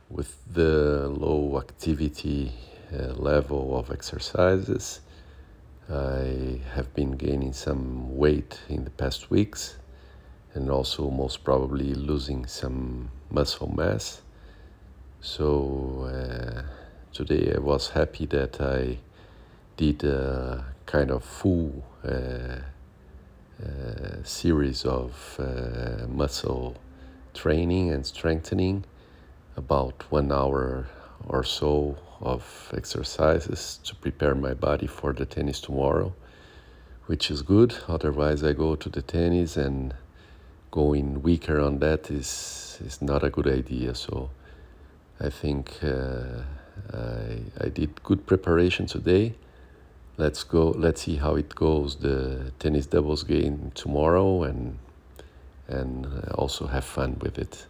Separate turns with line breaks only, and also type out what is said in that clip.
with the low activity level of exercises. I have been gaining some weight in the past weeks and also most probably losing some muscle mass. So today I was happy that I did a kind of full series of muscle training and strengthening, about 1 hour or so of exercises to prepare my body for the tennis tomorrow, which is good. Otherwise, I go to the tennis and going weaker on that is not a good idea. So I think I did good preparation today. Let's go. Let's see how it goes. The tennis doubles game tomorrow, and also have fun with it.